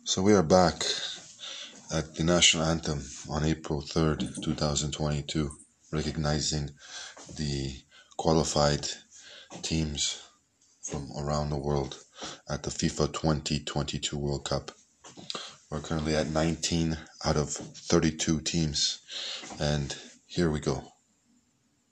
So we are back at the national anthem on April 3rd, 2022, recognizing the qualified teams from around the world at the FIFA 2022 World Cup. We're currently at 19 out of 32 teams, and here we go.